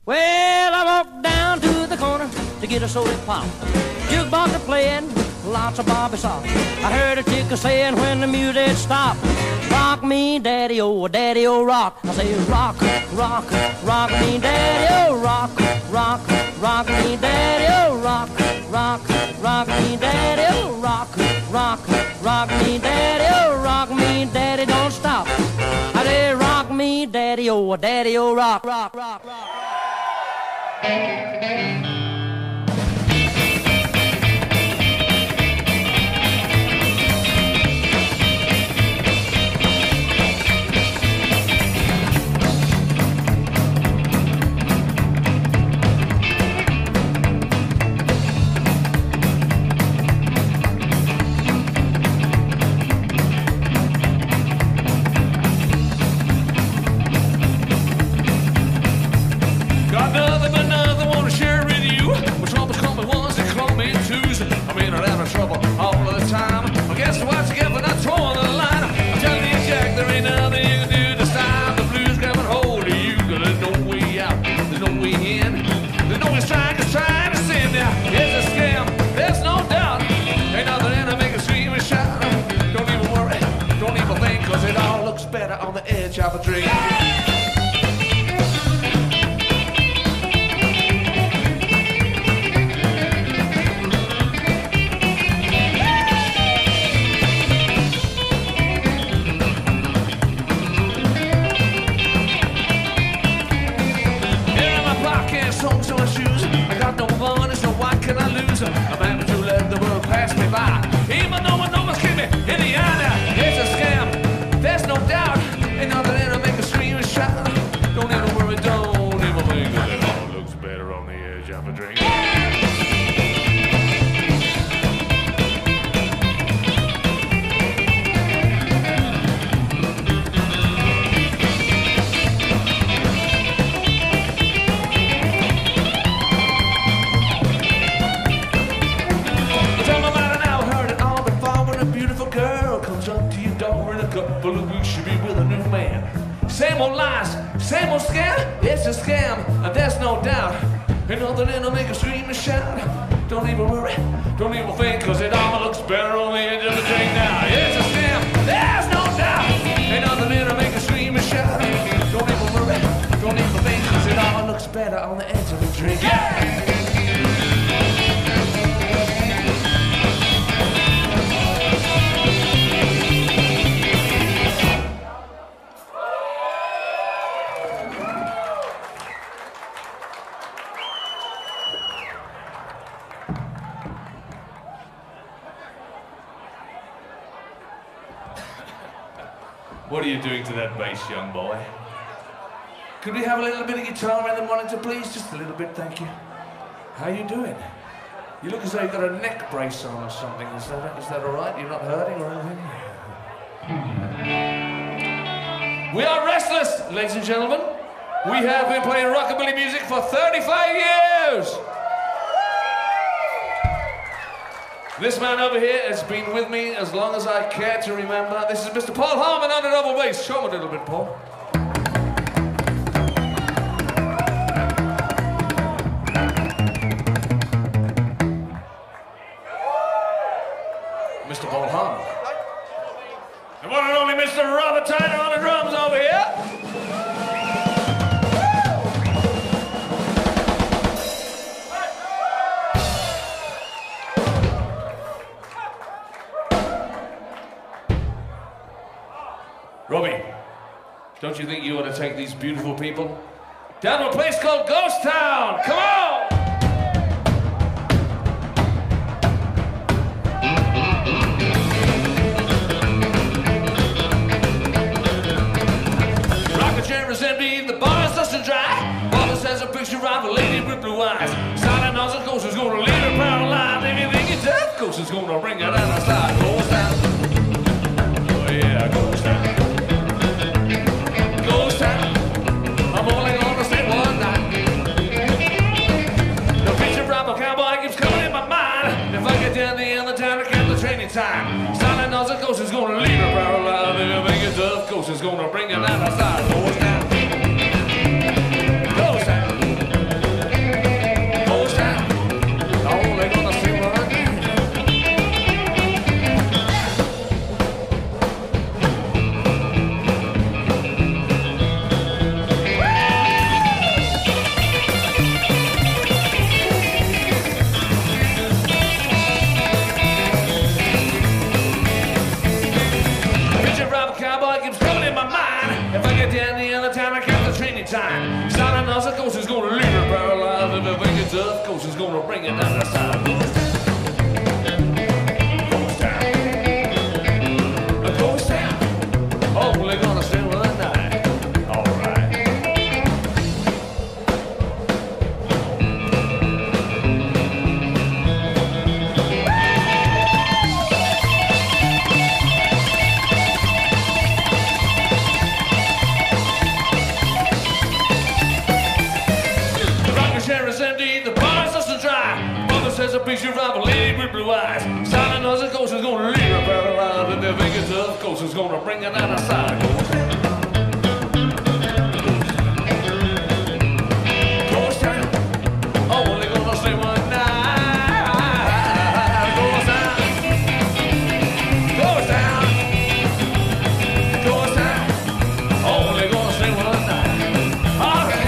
Well, I walked down to the corner to get a soda pop. Jukebox a playing, lots of Bobby soft. I heard a chick saying when the music stopped, rock me, daddy, oh, rock. I say, rock, rock, rock me, daddy, oh, rock, rock, rock me, daddy, oh, rock, rock, rock me, daddy, oh, rock, rock, rock me, daddy, oh, rock me, daddy, don't stop. I say, rock me, daddy, oh, rock, rock, rock, rock. Better on the edge of a dream. Songs on my shoes. I got no money, so why can I lose? I'm happy to let the world pass me by. Even though my numbers keep me in the eye now. It's a scam, there's no doubt. Ain't nothing that'll make a scream and shout. Don't even worry, don't even think that it all looks better on the edge of a drink. Couple of weeks, she'll be with a new man. Same old lies, same old scam. It's a scam, and there's no doubt. Ain't nothing that'll make her scream and shout. Don't even worry, don't even think, cause it all looks better on the edge of the drink now. It's a scam, there's no doubt. Ain't nothing that'll make her scream and shout. Don't even worry, don't even think, cause it all looks better on the edge of the drink. Yeah! What are you doing to that bass, young boy? Could we have a little bit of guitar in the monitor, please? Just a little bit, thank you. How you doing? You look as though you've got a neck brace on or something. Is that all right? You're not hurting or anything? We are Restless, ladies and gentlemen. We have been playing rockabilly music for 35 years. This man over here has been with me as long as I care to remember. This is Mr. Paul Harmon on the double bass. Show him a little bit, Paul. Mr. Paul Harmon. The one and only Mr. Robert Tyner on the drums over here. Robbie, don't you think you ought to take these beautiful people down to a place called Ghost Town? Come on! Rocket chair is empty, the bar is dust and dry. Wallace has a picture of a lady with blue eyes. Silent as a ghost is gonna lead her paralyzed. If you think it's tough, ghost is gonna bring her down the slide. Ghost Town. Oh yeah, Ghost Town. Time. Silent as a ghost is gonna leave her paralyzed. If you think it's tough, ghost is gonna bring her down the side. Ghost Town. Ghost Town. Sounding us, of course, is gonna leave her paralyzed. If you think it's up, of course, is gonna bring it down the side. Ghost town. Ghost town. Only gonna stay one night. All right. Chair is empty, the bar is just a dry. Mother says a picture of a lady with blue eyes. Silent as a ghost is gonna leave her paralyzed. And if it gets up, ghost is gonna bring it out of sight. Ghost town, only gonna stay one night. Ghost town, ghost town, ghost town, only gonna stay one night. All right.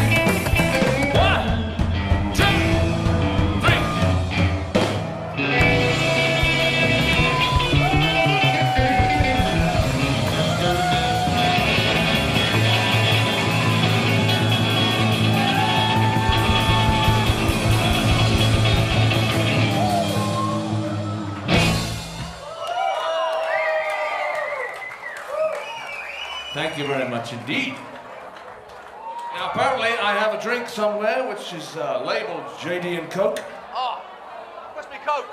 Thank you very much indeed. Now, apparently, I have a drink somewhere which is labeled JD and Coke. Ah, must be Coke.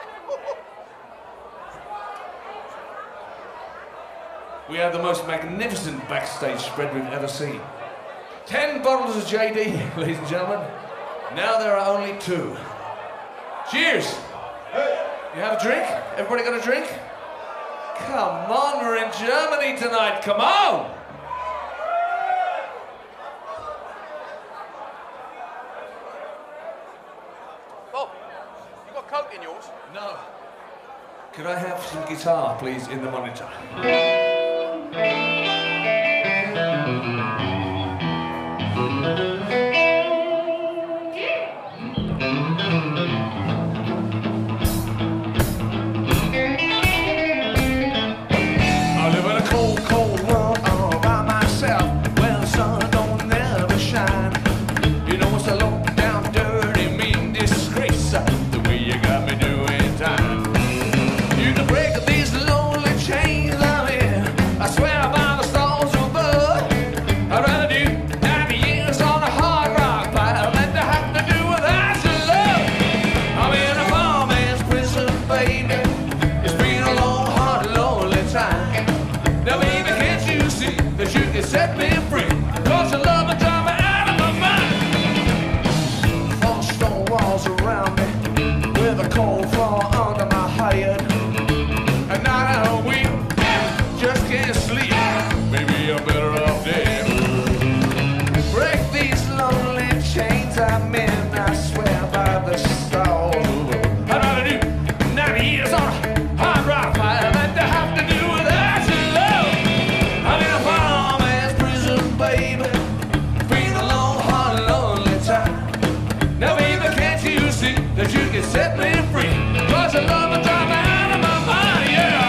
We have the most magnificent backstage spread we've ever seen. 10 bottles of JD, ladies and gentlemen. Now there are only 2. Cheers! You have a drink? Everybody got a drink? Come on, we're in Germany tonight, come on! Bob, you got Coke in yours? No. Could I have some guitar, please, in the monitor? I live in a cold, cold world all by myself, where the sun don't never shine. You know it's a low down, dirty, mean disgrace, the way you got me doing time. You can break these lonely chains I'm in, I swear by the stars above. I'd rather do 90 years on a hard rock pile than to have to do without your love. I'm in a poor man's prison, baby. It's been a long, hard, lonely time. Now, baby, can't you see that you can set me free? Cause your love will drive me out of my mind. 4 stone walls around me, with a cold floor under my head. A night and a week, just can't sleep. Maybe I'm better off dead. Break these lonely chains I'm in, I swear by the stars. I'd rather do 90 years on a hard rock fire than to have to do without your love. I'm in a poor man's prison, baby. Been a long, hard, lonely time. Now, baby, can't you see that you can set me free? Cause your love will drive me out of my mind, yeah.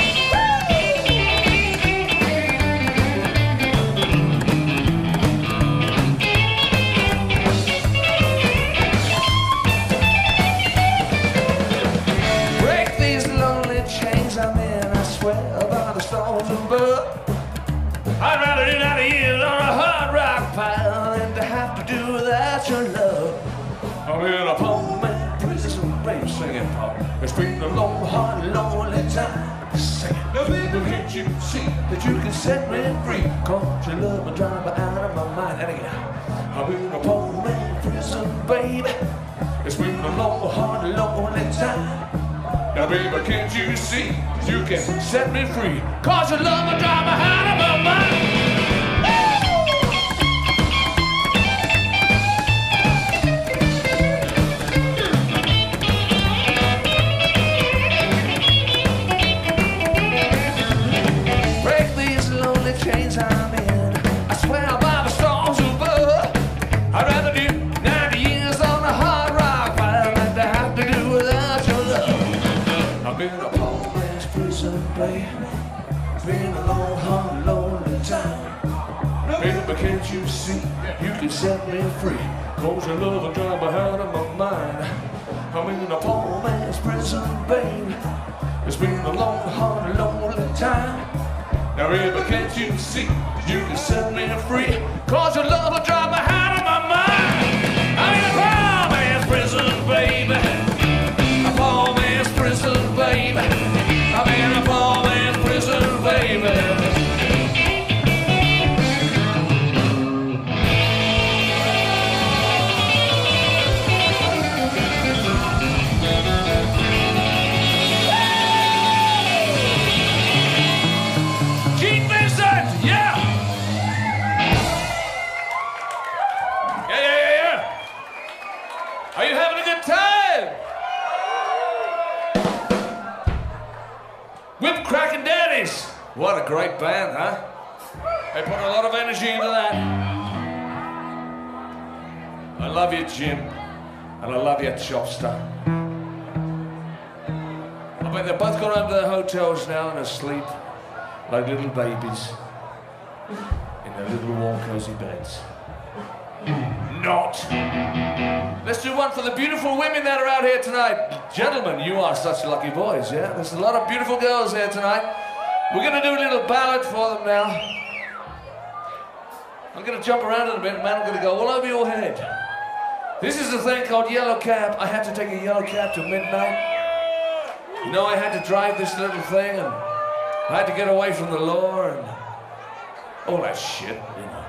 Break these lonely chains I'm in, I swear by the stars above. I'd rather do 90 years on a hard rock pile than to have to do without your love. I'm in a poor man prison, baby, singing pop. It's been a long, hard, lonely time. Sing it. Now, baby, can't you see that you can set me free? Cause your love will drive me out of my mind. And again, I'm in a poor man prison, baby. It's been a long, hard, lonely time. Now, baby, can't you see that you can set me free? Cause your love will drive me out of my mind. Break these lonely chains I'm in, I swear by the stars above. I'd rather do 90 years on a hard rock pile than to have to do without your love. I've been a poor man's prison, baby. It's been a long, hard, lonely time. Baby, can't you see you can set me free? Cause your love will drive me out of my mind. I'm in a poor man's prison, babe. It's been a long, hard, lonely time. Now baby, can't you see you can set me free? Cause your love will drive me out of my mind. I'm in a poor man's prison, baby. A poor man's prison, baby. I'm in a poor man's prison, baby. Are you having a good time? Whip Crackin' Daddies. What a great band, huh? They put a lot of energy into that. I love you, Jim. And I love you, Chopster. I bet they've both gone home to their hotels now and asleep like little babies in their little warm, cozy beds. Not. Let's do one for the beautiful women that are out here tonight. Gentlemen, you are such lucky boys, yeah? There's a lot of beautiful girls here tonight. We're gonna do a little ballad for them now. I'm gonna jump around in a bit, man. I'm gonna go all over your head. This is a thing called Yellow Cab. I had to take a yellow cab to midnight. You know, I had to drive this little thing and I had to get away from the law and all that shit, you know.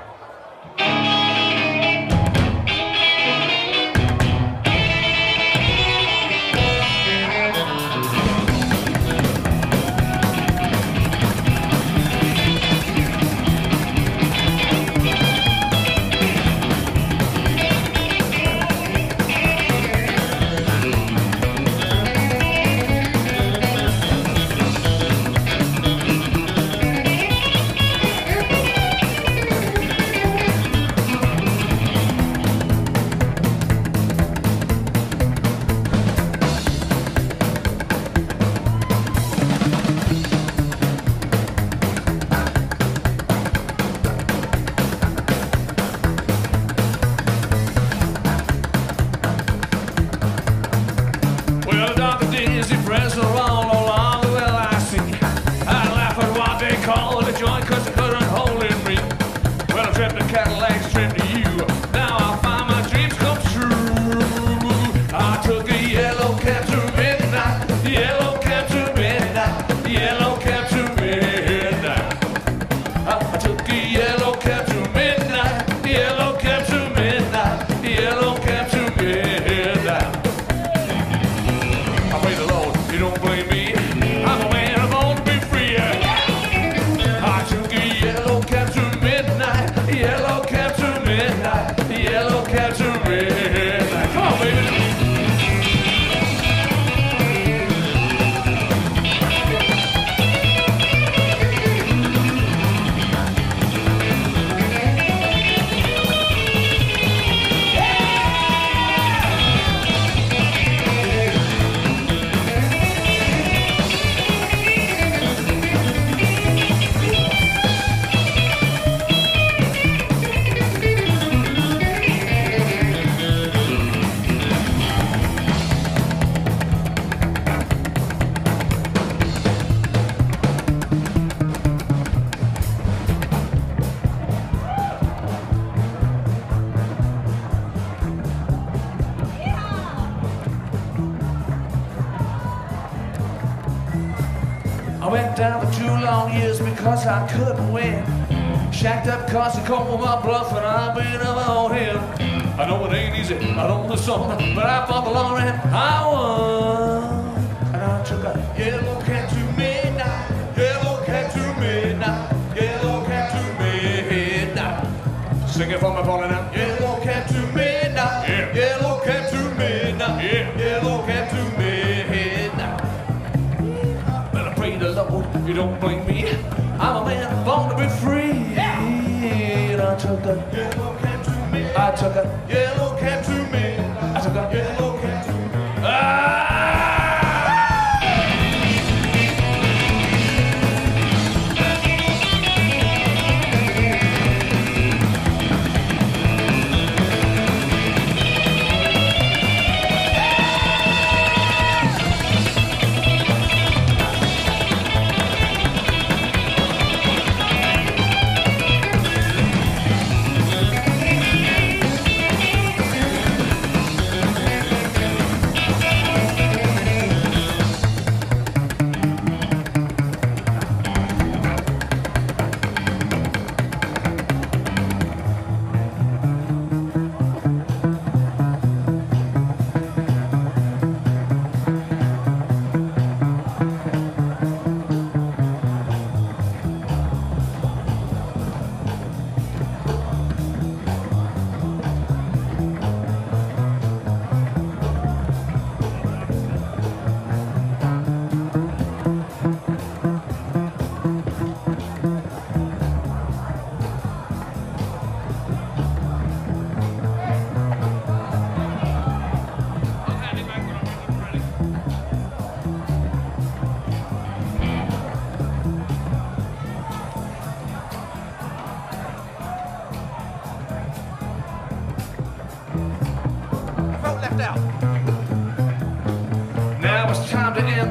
Because I couldn't win. Shacked up cause I called my bluff and I been up on him. I know it ain't easy, I know the song, but I fought the long and I won. And I took a yellow cab to midnight, yellow cab to midnight, yellow cab to midnight. Sing it for me, falling out. Yellow cab to midnight, yeah. Yellow cab to midnight, yeah. Yellow cab to midnight. Better pray the Lord, you don't blame me. I'm a man born to be free. Yeah. And I took a yellow cab to me. I took a yellow cab to me. I took a yellow cab to me.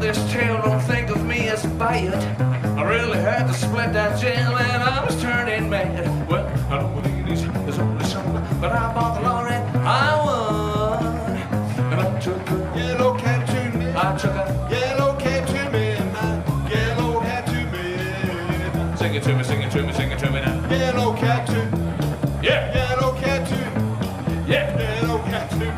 this tale, don't think of me as bad. I really had to split that jam and I was turning mad. Well, I don't believe there's only some, but I bought the lorry, I won. And I took a Yellow cat to me. I took a Yellow cat to me. Yellow cat to me. sing it to me, sing it to me, sing it to me now. Yellow cat to. Yeah, Yellow cat to. yeah. Yellow cat to.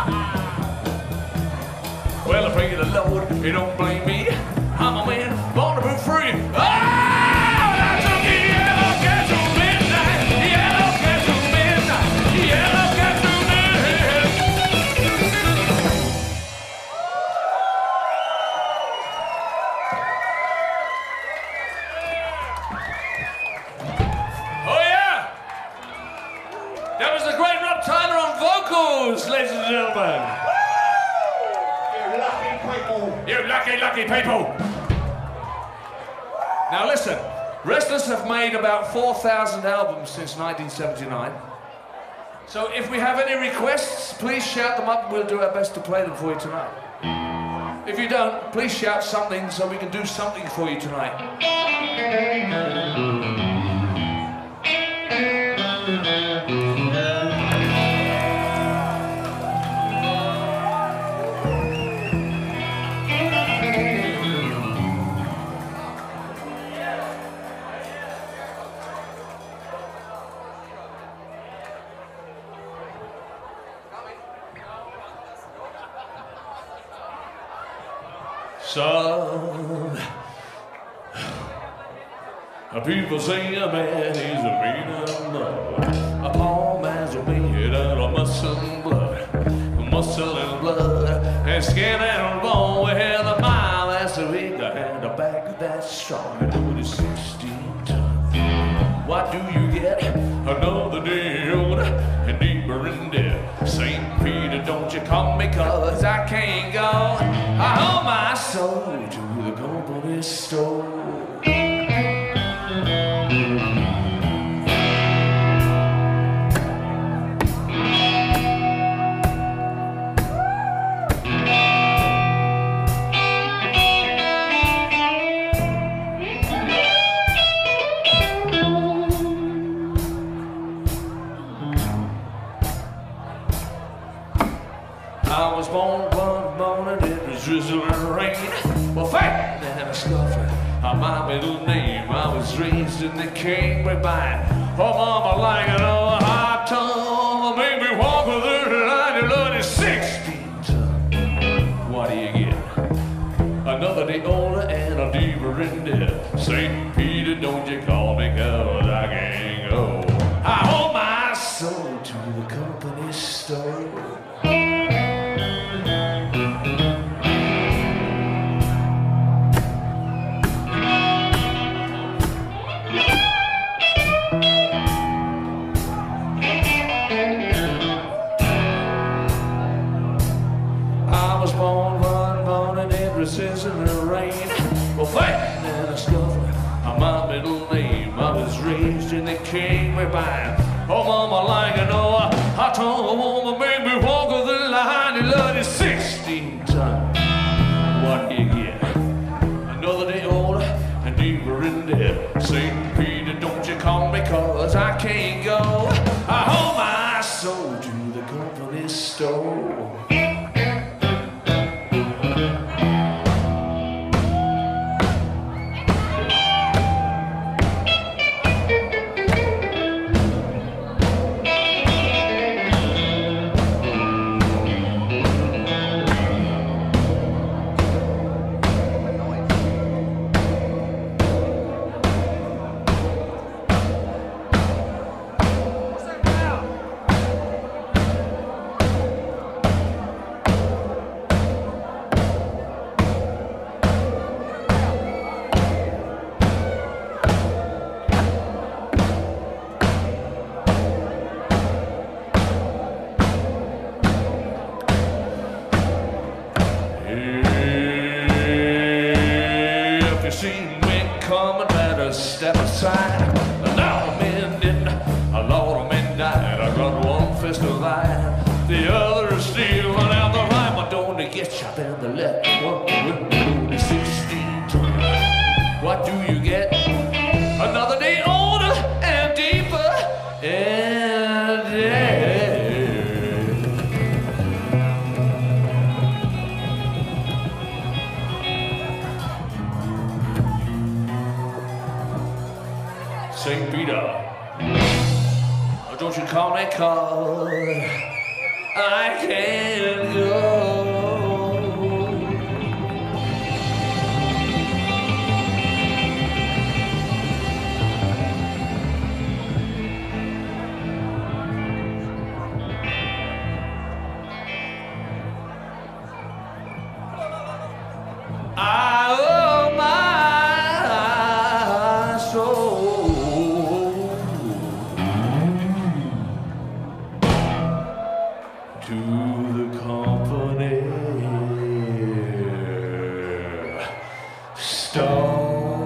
Well, I pray the Lord, you don't blame me. I'm a man, born to be free. Oh, I took the yellow cat to midnight. Yellow cat to midnight. Yellow cat to midnight. Oh, yeah. That was the great Rob Tyler on vocals, ladies and gentlemen. You lucky, lucky people! Now listen, Restless have made about 4,000 albums since 1979. So if we have any requests, please shout them up and we'll do our best to play them for you tonight. If you don't, please shout something so we can do something for you tonight. Son, people say a man is made of mud. A poor man's made out of muscle and blood, and skin and bone. Well, the mile that's a big and the back that's strong. Do the 16 tons. What do you get? Another day older and deeper in debt. St. Peter, don't you come me, 'cause I can't go. I owe my soul to the company store. I was born one morning, it was drizzling and rain. Well, fat and a scuffer, my middle name. I was raised in the king line. Oh, mama, like an old hot tongue, made me walk with her line and learn 16 tons. What do you get? Another day older and a deeper in debt. St. Peter, don't you call me, 'cause I can't go. I owe my soul to the company store. In the rain, well, fat and a scuffer, my middle name. I was raised in the king line. Oh, mama, like an old hot tongue woman, made me walk with the line. You love it 16 tons. What do you get? Another day older and deeper in debt. St. Peter, don't you call me, 'cause I can't go. I owe my soul to the company store. Step aside. Now a man didn't, a lot of men died. I got one fist of light, the other is stealing out the right. But don't they get shot in the left? One with call me 'cause I can't go. I owe my soul to the company store.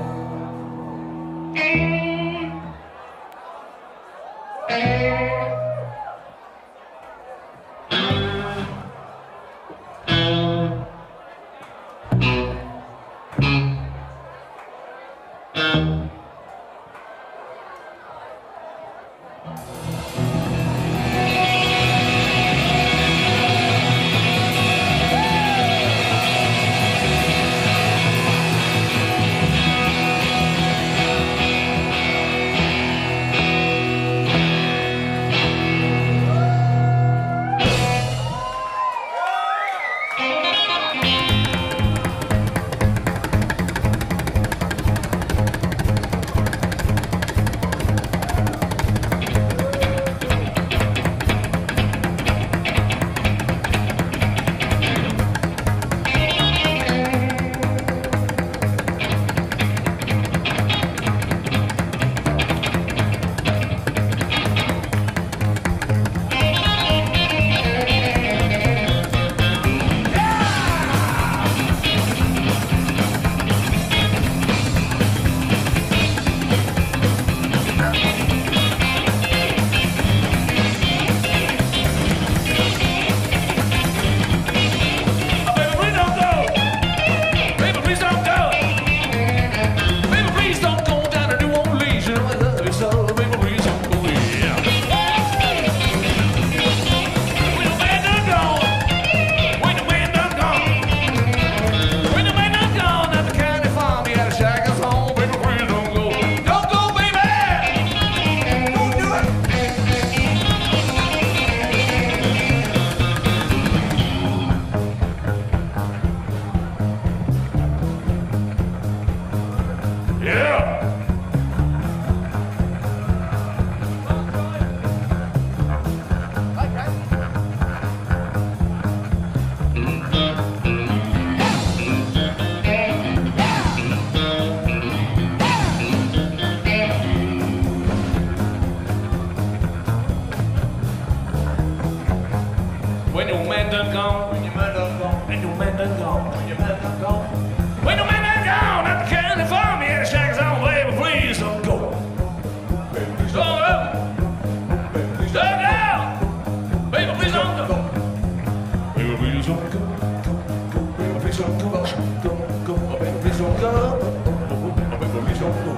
When your man done gone, when your man done gone, when your man done gone, when your man done gone, when your man done gone, at the county farm, yeah, the shack is on, baby, please don't go. Baby, please don't go. Baby, please don't go. Baby, please don't go. Baby, please don't go. Baby, please don't go. Go. Baby, please don't go. Baby, please don't go.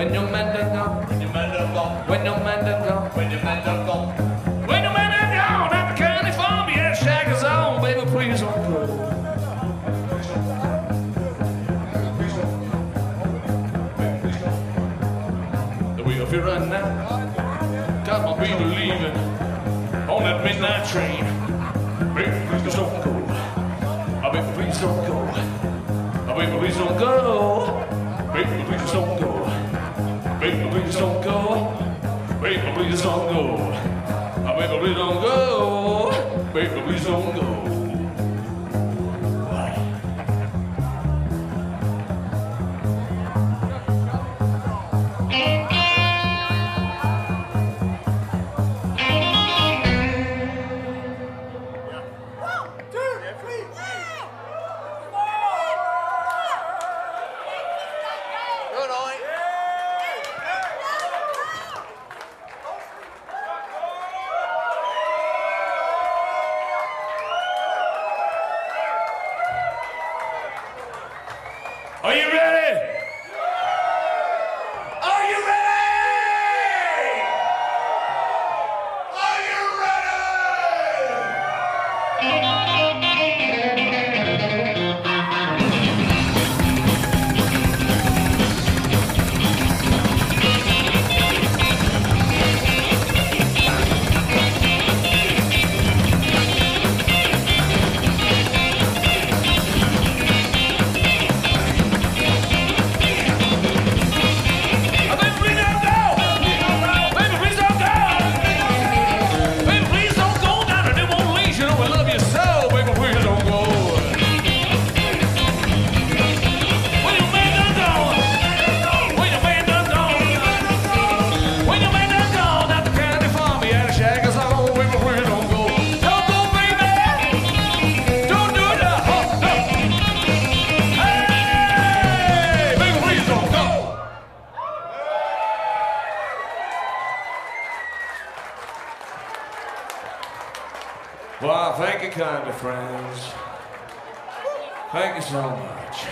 When your man done gone, When your man done gone, when your man done gone, when your man done gone. when your man done gone, at the county farm, yeah, shack is on, baby, please don't go. The wheel if you run now, got my people leaving on that midnight train. Baby, please don't go. Baby, please don't go. Baby, please don't go. Baby, please don't go. Baby, please don't go. Baby, please don't go. Baby, please don't go. Baby, please don't go. Good night. Are you ready? Are you ready? Are you ready? Wow, thank you kindly, friends. Thank you so much.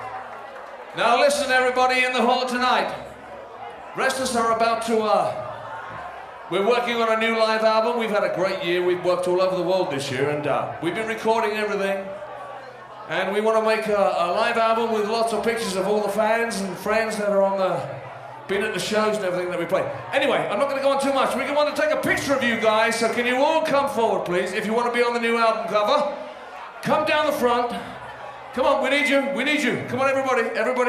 Now listen, everybody in the hall tonight. Rest of us are about to, we're working on a new live album. We've had a great year. We've worked all over the world this year, and we've been recording everything. And we want to make a live album with lots of pictures of all the fans and friends that are on been at the shows and everything that we play. Anyway, I'm not going to go on too much. We want to take a picture of you guys, so can you all come forward, please, if you want to be on the new album cover. Come down the front. Come on, we need you. We need you. Come on, everybody. Everybody.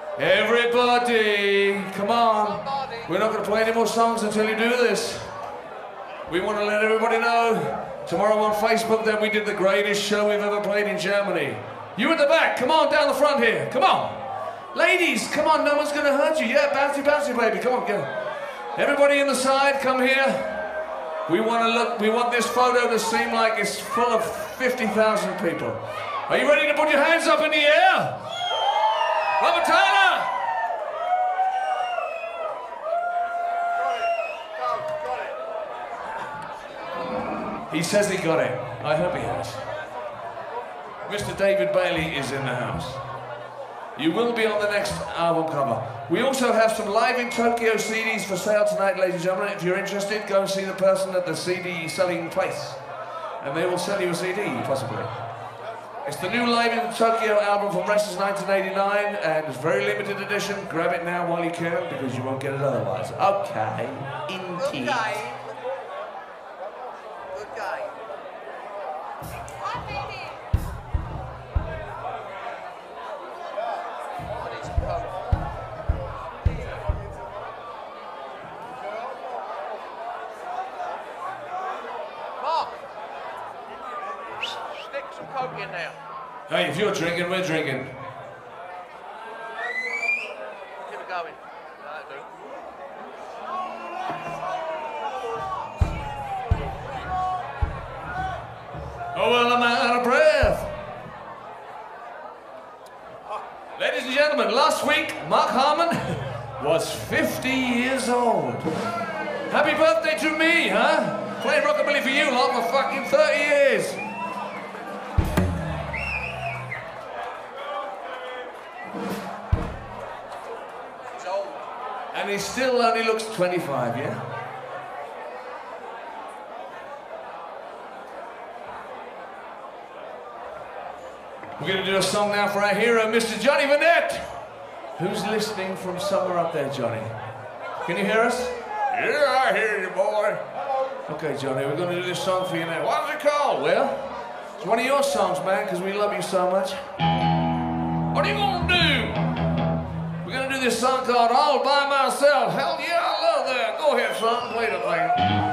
Everybody. Come on. We're not going to play any more songs until you do this. We want to let everybody know. Tomorrow on Facebook that we did the greatest show we've ever played in Germany. You at the back. Come on, down the front here. Come on. Ladies, come on, no one's going to hurt you. Yeah, bouncy, bouncy, baby. Come on, go. Everybody in the side, come here. We want this photo to seem like it's full of 50,000 people. Are you ready to put your hands up in the air? Robert Tyler! He says he got it. I hope he has. Mr. David Bailey is in the house. You will be on the next album cover. We also have some Live in Tokyo CDs for sale tonight, ladies and gentlemen. If you're interested, go and see the person at the CD selling place. And they will sell you a CD, possibly. It's the new Live in Tokyo album from Restless 1989, and it's a very limited edition. Grab it now while you can, because you won't get it otherwise. Okay. Indeed. Good game. Good game. Mark, stick some coke in there. Hey, if you're drinking, we're drinking. Keep it going. That'll do. Oh, well, I'm out of breath. Ladies and gentlemen, last week, Mark Harmon was 50 years old. Happy birthday to me, huh? Playing rockabilly for you lot for fucking 30 years. It's old. he still only looks 25, yeah? We're going to do a song now for our hero, Mr. Johnny Burnett. Who's listening from somewhere up there, Johnny? Can you hear us? Yeah, I hear you, boy. Okay, Johnny, we're going to do this song for you now. What's it called? Well, it's one of your songs, man, because we love you so much. What are you going to do? We're going to do this song called All By Myself. Hell yeah, I love that. Go ahead, son, play the thing.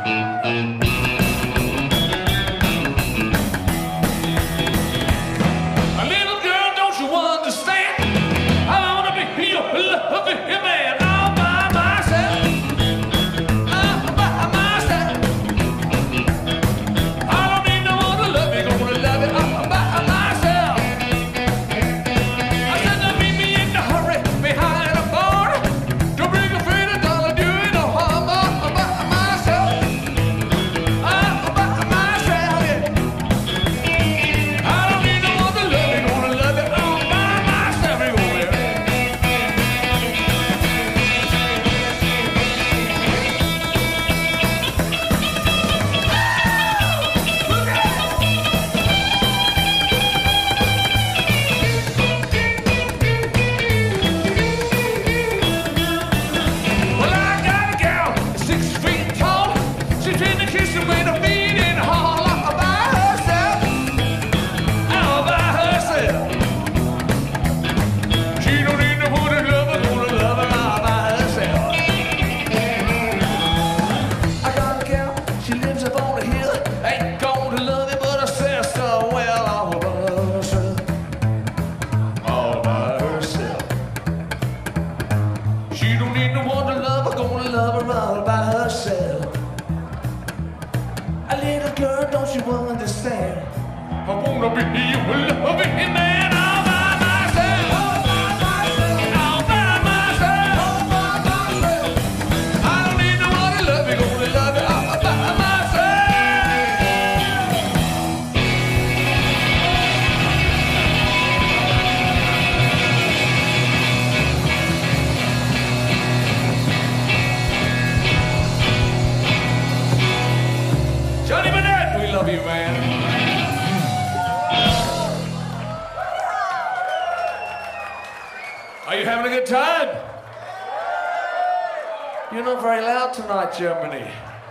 Germany.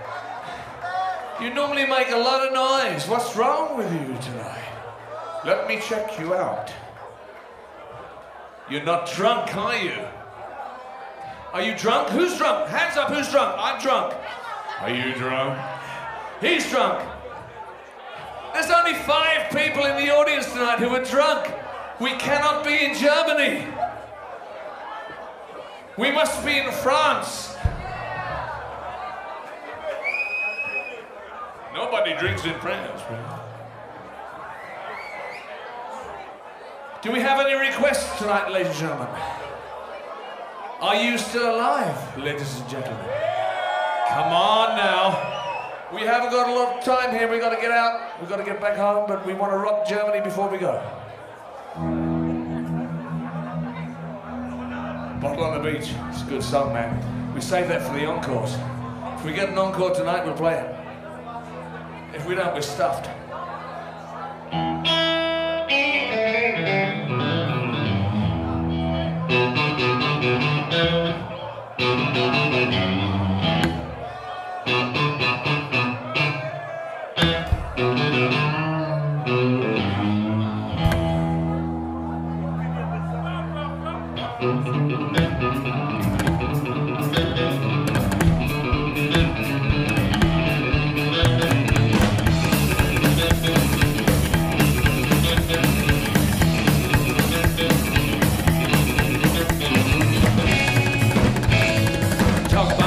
You normally make a lot of noise. What's wrong with you tonight? Let me check you out. You're not drunk, are you? Are you drunk? Who's drunk? Hands up, who's drunk? I'm drunk. Are you drunk? He's drunk. There's only 5 people in the audience tonight who are drunk. We cannot be in Germany. We must be in France. Nobody drinks in France, right? Do we have any requests tonight, ladies and gentlemen? Are you still alive, ladies and gentlemen? Come on now. We haven't got a lot of time here. We've got to get out. We've got to get back home, but we want to rock Germany before we go. Bottle on the Beach. It's a good song, man. We save that for the encores. If we get an encore tonight, we'll play it. If we don't, we're stuffed.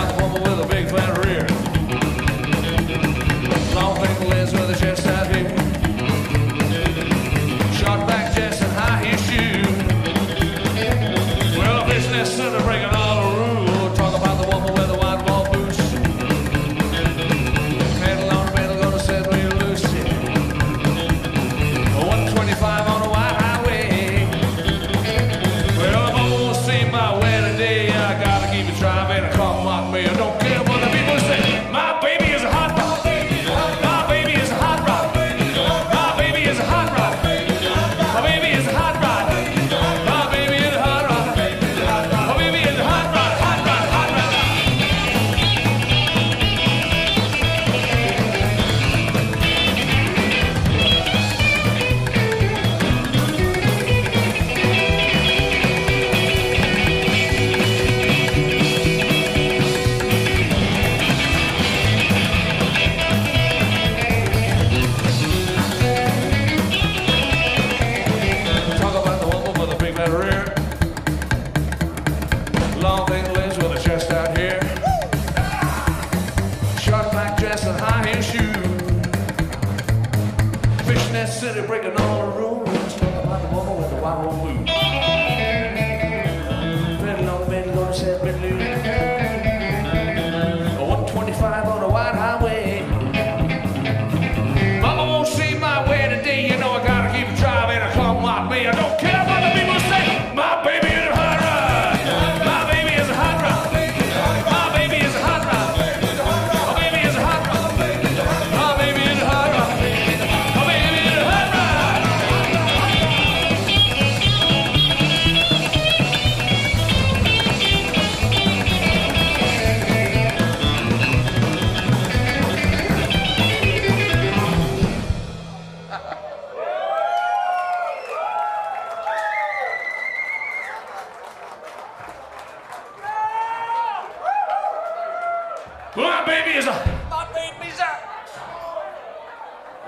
Long fingernails with a chest out here.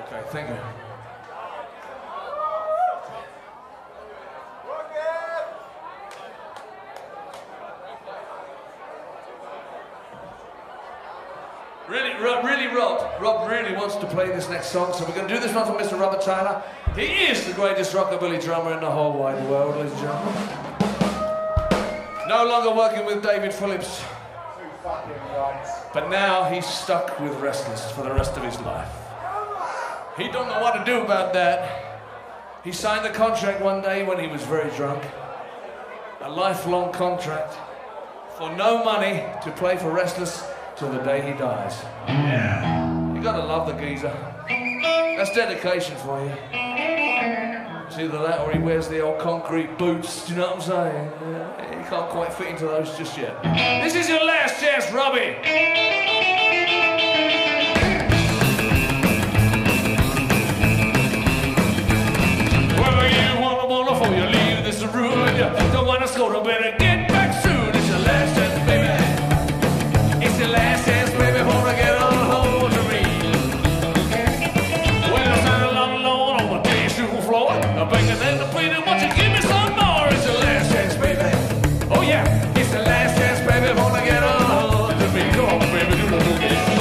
Okay, thank you. Rob really wants to play this next song, so we're going to do this one for Mr. Robert Tyler. He is the greatest rockabilly drummer in the whole wide world, ladies and gentlemen. No longer working with David Phillips, but now he's stuck with Restless for the rest of his life. He don't know what to do about that. He signed a contract one day when he was very drunk, a lifelong contract for no money to play for Restless till the day he dies. Yeah. You gotta love the geezer. That's dedication for you. It's either that or he wears the old concrete boots, do you know what I'm saying? Yeah, he can't quite fit into those just yet. This is your last chance, Robbie! Well, you wanna before you leave this room, you don't wanna score, better get back soon. It's your last chance, baby. It's your last chance, baby, before I get on hold to me. Well, I'm standing alone on the tissue floor, I'm begging and pleading, won't you give me some more? It's your last chance, baby. Oh yeah, it's the last chance, baby, before I get on hold to me. Come on, baby, do the boogie.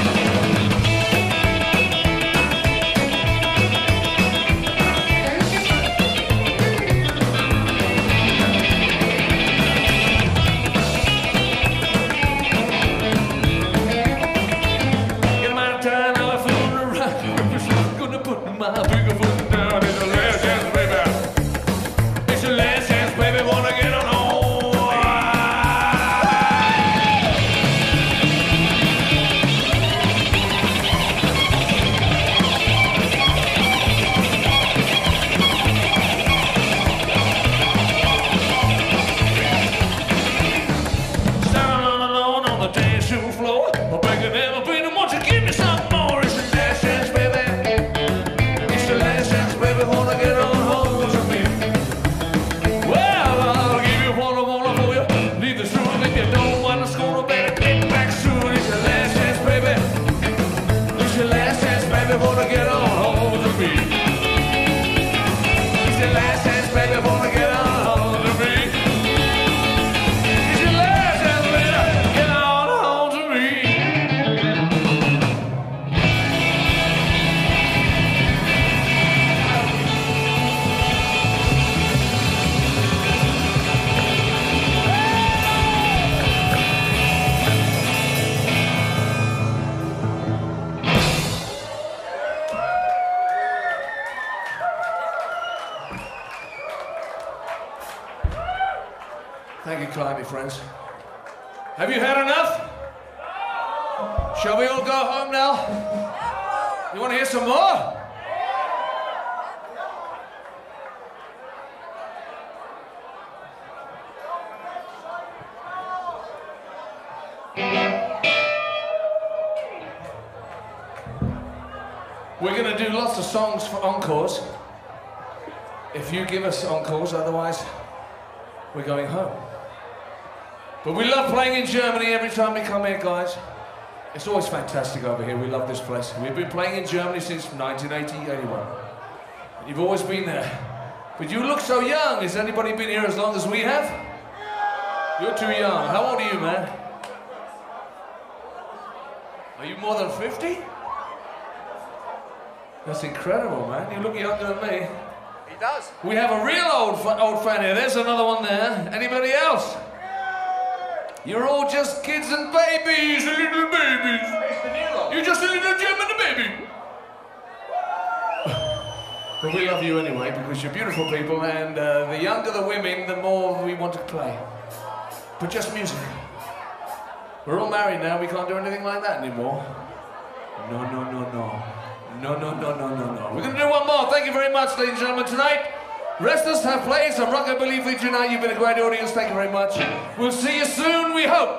Thank you kindly, friends. Have you had enough? Shall we all go home now? You want to hear some more? We're going to do lots of songs for encores. If you give us encores, otherwise we're going home. But we love playing in Germany every time we come here, guys. It's always fantastic over here. We love this place. We've been playing in Germany since 1980, 81. You've always been there. But you look so young. Has anybody been here as long as we have? You're too young. How old are you, man? Are you more than 50? That's incredible, man. You look younger than me. He does. We have a real old fan here. There's another one there. Anybody else? You're all just kids and babies, little babies. You're just a little German baby. But we love you anyway because you're beautiful people, and the younger the women, the more we want to play. But just music. We're all married now. We can't do anything like that anymore. No, no, no, no. No, no, no, no, no, no. We're going to do one more. Thank you very much, ladies and gentlemen. Tonight, Restless have played some rockabilly for you tonight. You've been a great audience. Thank you very much. We'll see you soon, we hope.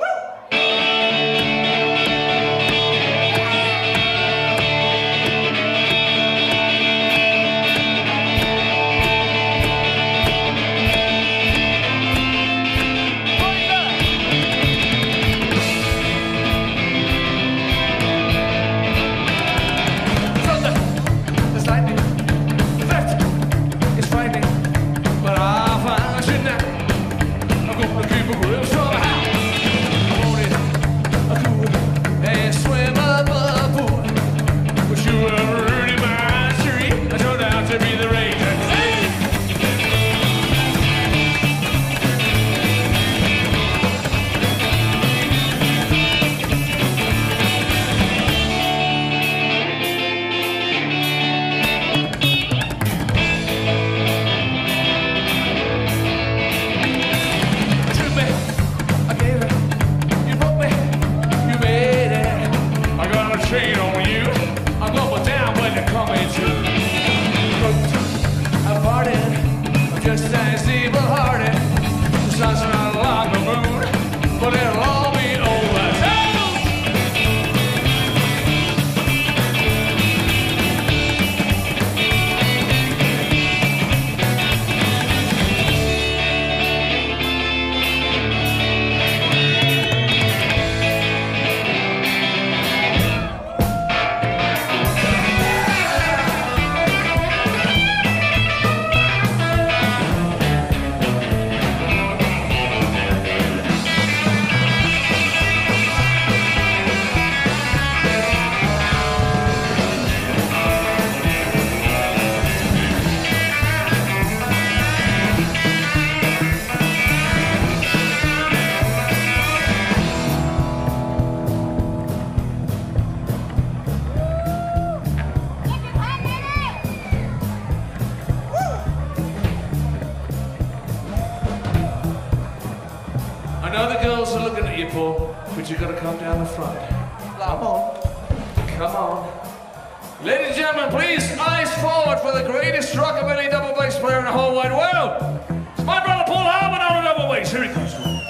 Other girls are looking at you, Paul, but you gotta come down the front. Come on. Come on. Ladies and gentlemen, please, eyes forward for the greatest rockabilly double bass player in the whole wide world. It's my brother Paul Harmon on the double bass. Here he comes.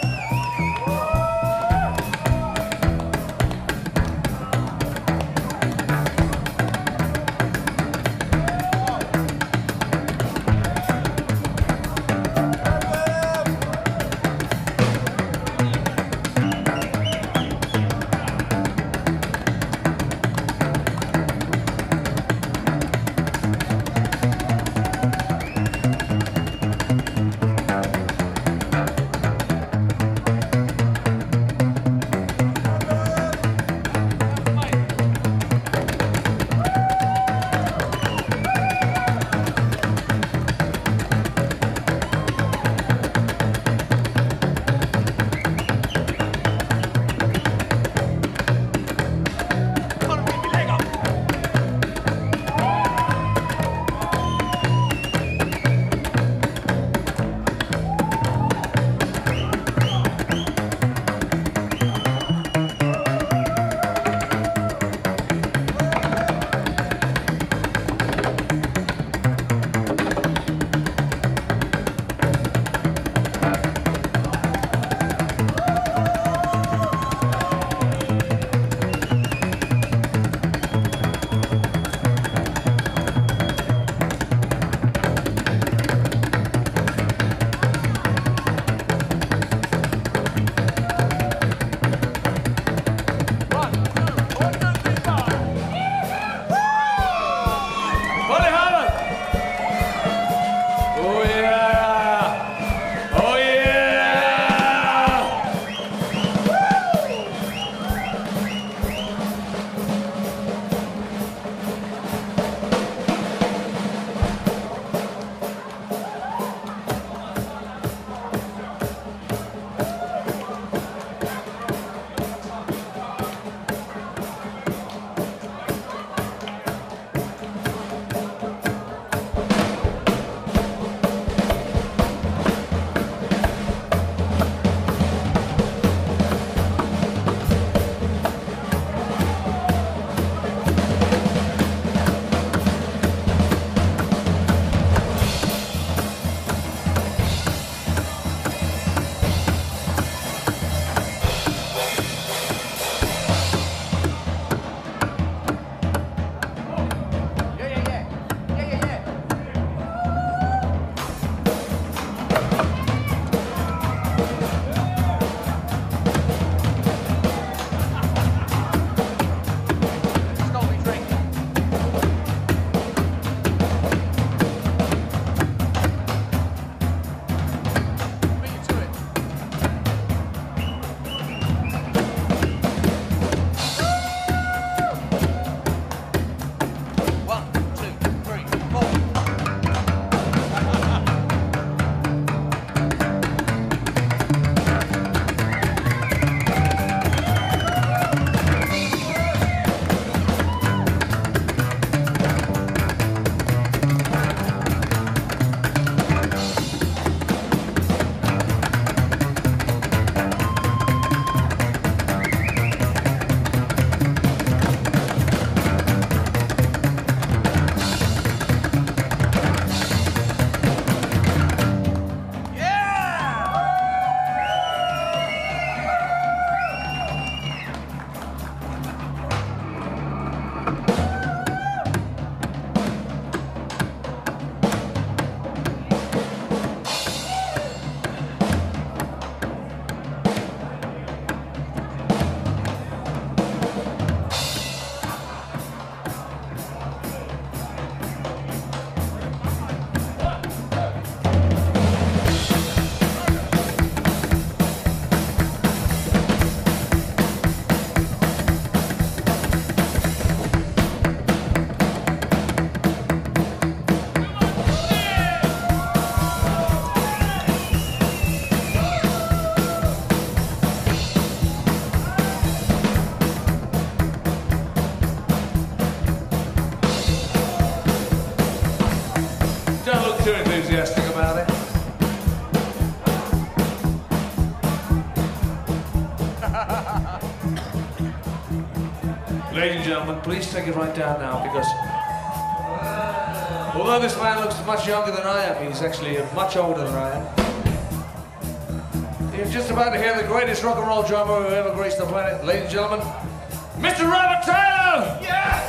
too enthusiastic about it. gentlemen, please take it right down now, because although this man looks much younger than I am, he's actually much older than I am. You're just about to hear the greatest rock and roll drummer who ever graced the planet. Ladies and gentlemen, Mr. Robert Taylor! Yeah!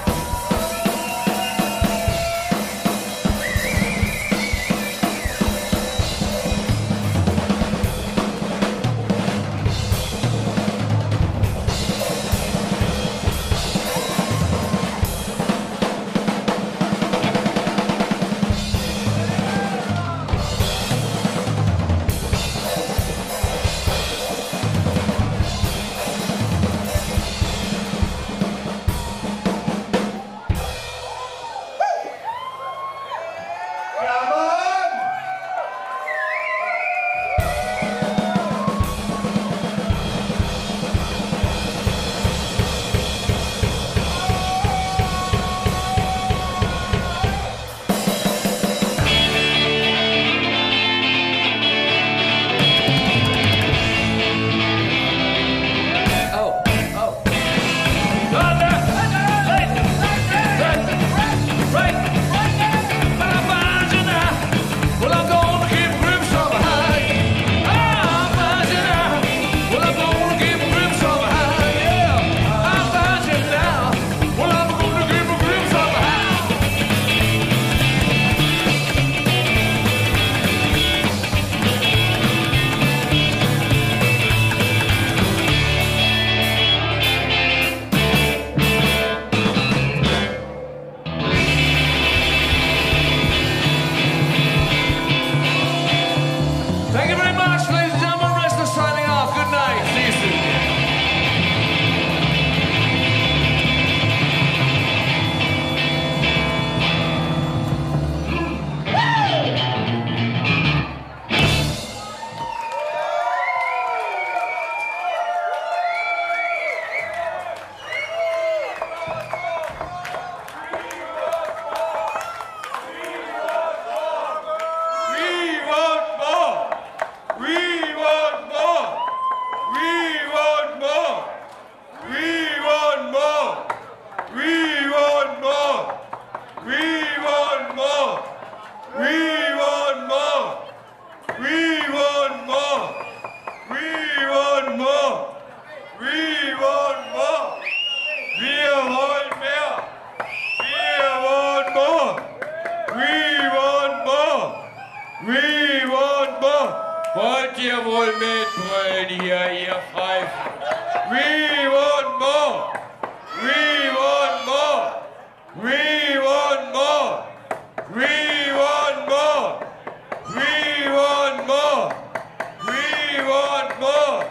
Wollt ihr wohl mitbrüllen hier, ihr Pfeifen? We want more! We want more! We want more! We want more! We want more! We want more!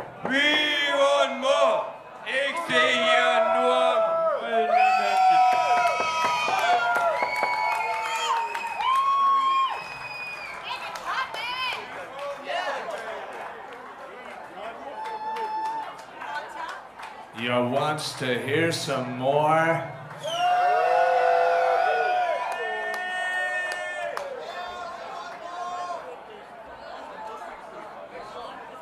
We want more! Ich sehe hier nur brüllende Menschen. You wants to hear some more?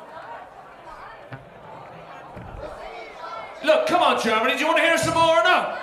Look, come on, Germany, do you want to hear some more or not?